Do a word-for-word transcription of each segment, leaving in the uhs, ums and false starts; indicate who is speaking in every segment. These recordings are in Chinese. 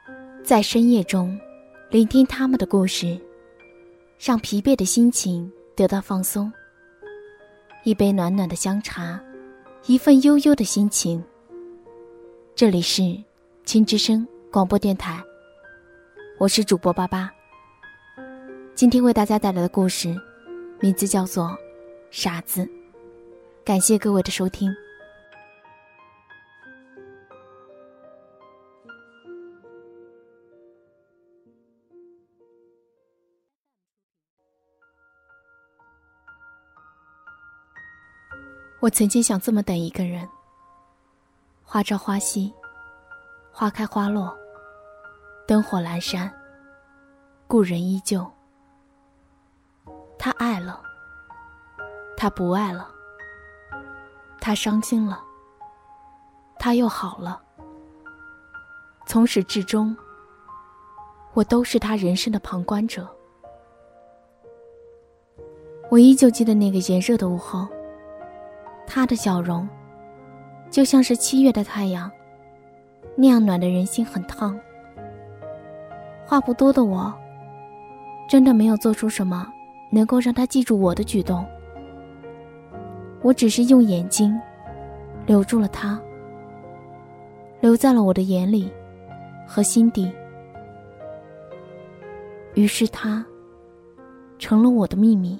Speaker 1: 在深夜中聆听他们的故事，让疲惫的心情得到放松。一杯暖暖的香茶，一份悠悠的心情。这里是青之声广播电台，我是主播巴巴。今天为大家带来的故事名字叫做傻子。感谢各位的收听。我曾经想这么等一个人，花朝花夕，花开花落，灯火阑珊，故人依旧。他爱了，他不爱了，他伤心了，他又好了。从始至终，我都是他人生的旁观者。我依旧记得那个炎热的午后，他的笑容就像是七月的太阳，那样暖的人心很烫。话不多的我，真的没有做出什么能够让他记住我的举动。我只是用眼睛留住了他，留在了我的眼里和心底。于是他成了我的秘密。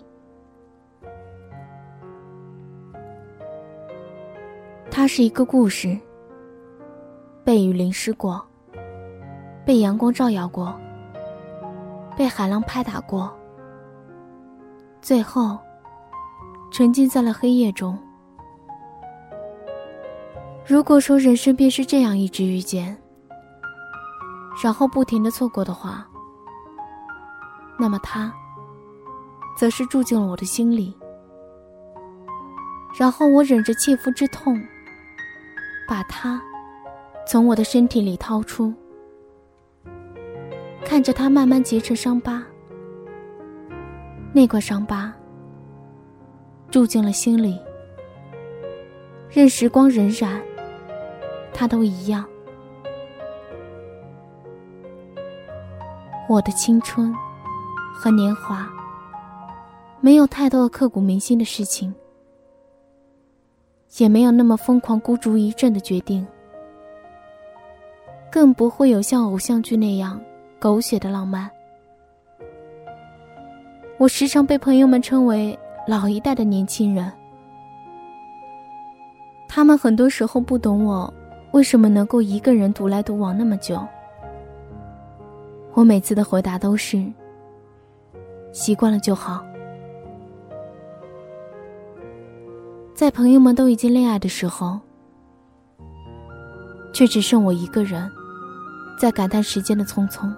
Speaker 1: 它是一个故事，被雨淋湿过，被阳光照耀过，被海浪拍打过，最后沉浸在了黑夜中。如果说人生便是这样一直遇见，然后不停地错过的话，那么它则是住进了我的心里，然后我忍着切肤之痛，把它从我的身体里掏出，看着它慢慢结成伤疤。那块伤疤住进了心里，任时光荏苒，它都一样。我的青春和年华没有太多的刻骨铭心的事情，也没有那么疯狂孤注一掷的决定，更不会有像偶像剧那样狗血的浪漫。我时常被朋友们称为老一代的年轻人，他们很多时候不懂我为什么能够一个人独来独往那么久。我每次的回答都是习惯了就好。在朋友们都已经恋爱的时候，却只剩我一个人在感叹时间的匆匆。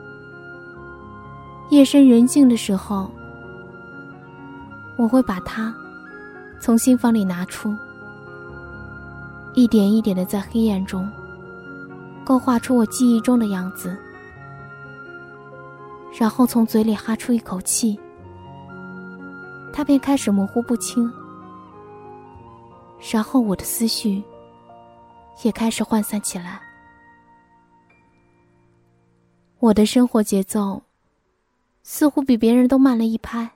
Speaker 1: 夜深人静的时候，我会把它从心房里拿出，一点一点地在黑暗中勾画出我记忆中的样子，然后从嘴里哈出一口气，它便开始模糊不清。然后我的思绪也开始涣散起来。我的生活节奏似乎比别人都慢了一拍。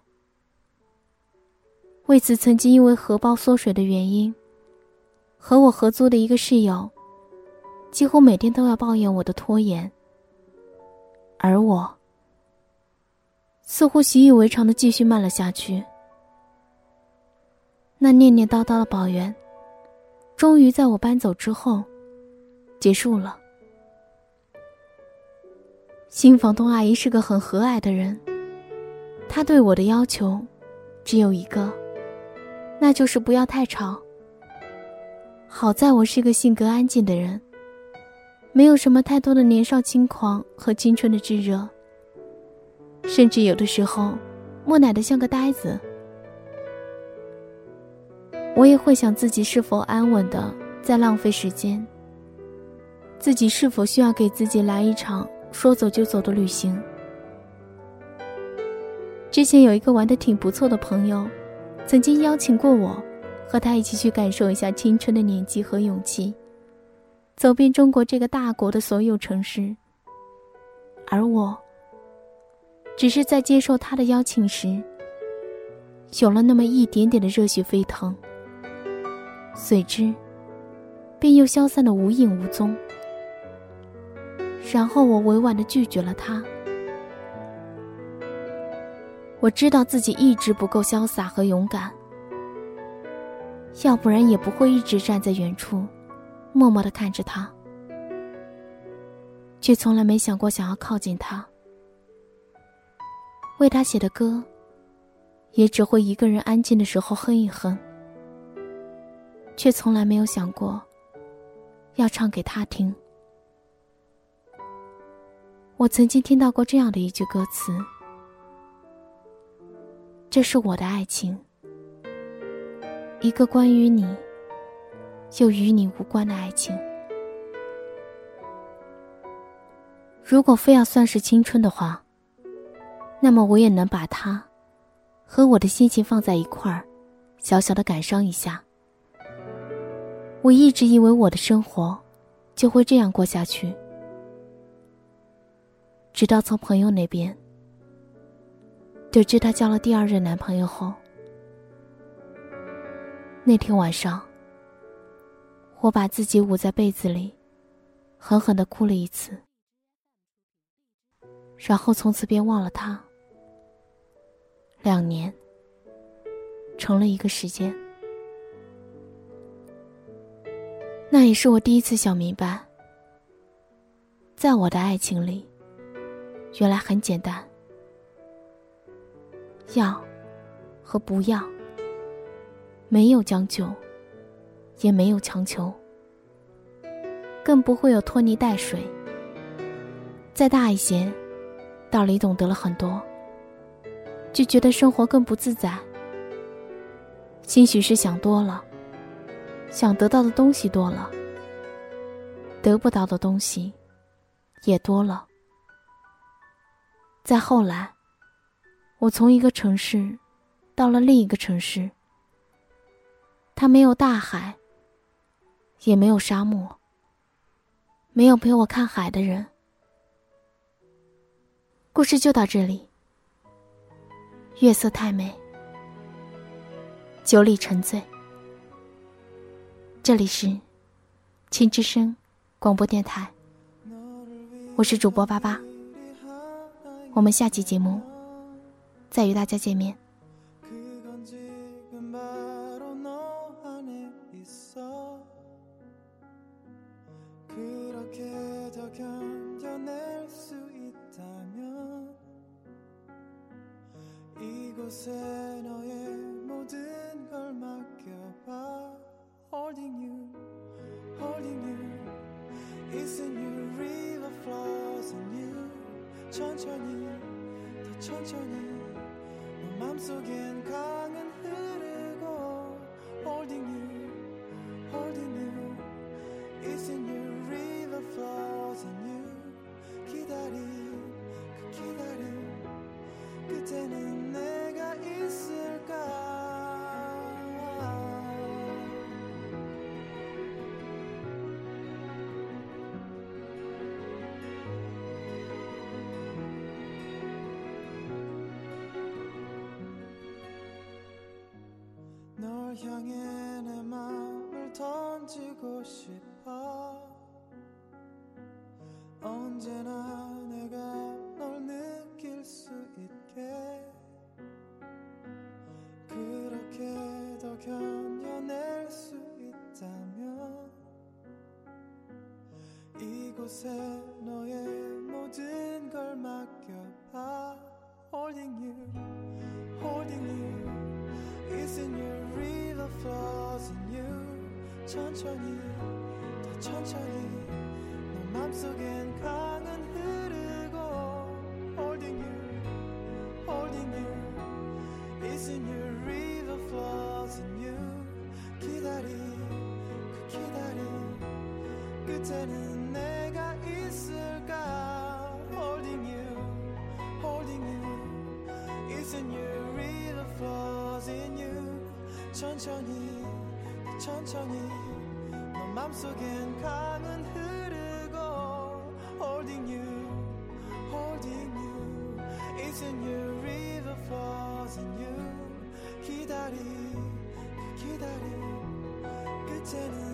Speaker 1: 为此，曾经因为荷包缩水的原因，和我合租的一个室友几乎每天都要抱怨我的拖延，而我似乎习以为常地继续慢了下去。那念念叨叨的抱怨终于在我搬走之后结束了。新房东阿姨是个很和蔼的人，她对我的要求只有一个，那就是不要太吵。好在我是个性格安静的人，没有什么太多的年少轻狂和青春的炙热，甚至有的时候木讷得像个呆子。我也会想自己是否安稳的在浪费时间，自己是否需要给自己来一场说走就走的旅行。之前有一个玩得挺不错的朋友，曾经邀请过我和他一起去感受一下青春的年纪和勇气，走遍中国这个大国的所有城市， 而我只是在接受他的邀请时，有了那么一点点的热血沸腾，随之便又消散得无影无踪。然后我委婉地拒绝了他。我知道自己一直不够潇洒和勇敢，要不然也不会一直站在远处默默地看着他，却从来没想过想要靠近他。为他写的歌也只会一个人安静的时候哼一哼，却从来没有想过要唱给他听。我曾经听到过这样的一句歌词：这是我的爱情，一个关于你又与你无关的爱情。如果非要算是青春的话，那么我也能把它和我的心情放在一块儿，小小的感伤一下。我一直以为我的生活就会这样过下去，直到从朋友那边得知她交了第二任男朋友后，那天晚上我把自己捂在被子里，狠狠地哭了一次，然后从此便忘了他。两年成了一个时间。那也是我第一次想明白，在我的爱情里原来很简单，要和不要，没有将就，也没有强求，更不会有拖泥带水。再大一些，道理懂得了很多，就觉得生活更不自在。兴许是想多了，想得到的东西多了，得不到的东西也多了。再后来，我从一个城市到了另一个城市，它没有大海，也没有沙漠，没有陪我看海的人。故事就到这里。月色太美，酒里沉醉。这里是青之声广播电台，我是主播巴巴。我们下期节目再与大家见面。이곳에 너의 모든 걸 맡겨봐. Holding you, holding you. Isn't you river flows in you. 천천히 더 천천히 너 맘속엔 강은 흐르고. Holding you, holding you. Isn't you river flows in you. 기다림 그 기다림 그때는 내가 있을까. 널 향해 내 마음을 던지고 싶어. 언제나 내가 널 느낄 수 있게 그렇게 더 견뎌낼 수 있다면 이곳에 너의 모든 걸 맡겨봐. Holding you, holding you. Isn't your river flows in you. 천천히 더 천천히 너 맘속엔 강은 흐르고. Holding you, holding you. Isn't your river flows in you. 기다림 그 기다림 끝에는 내가 있을까. Holding you, holding you. Isn't your river flows in you. 천천히 천천히 너 맘속엔 강은 흐르고. Holding you,
Speaker 2: holding you. It's a new river falls in you. 기다리 기다리 그때는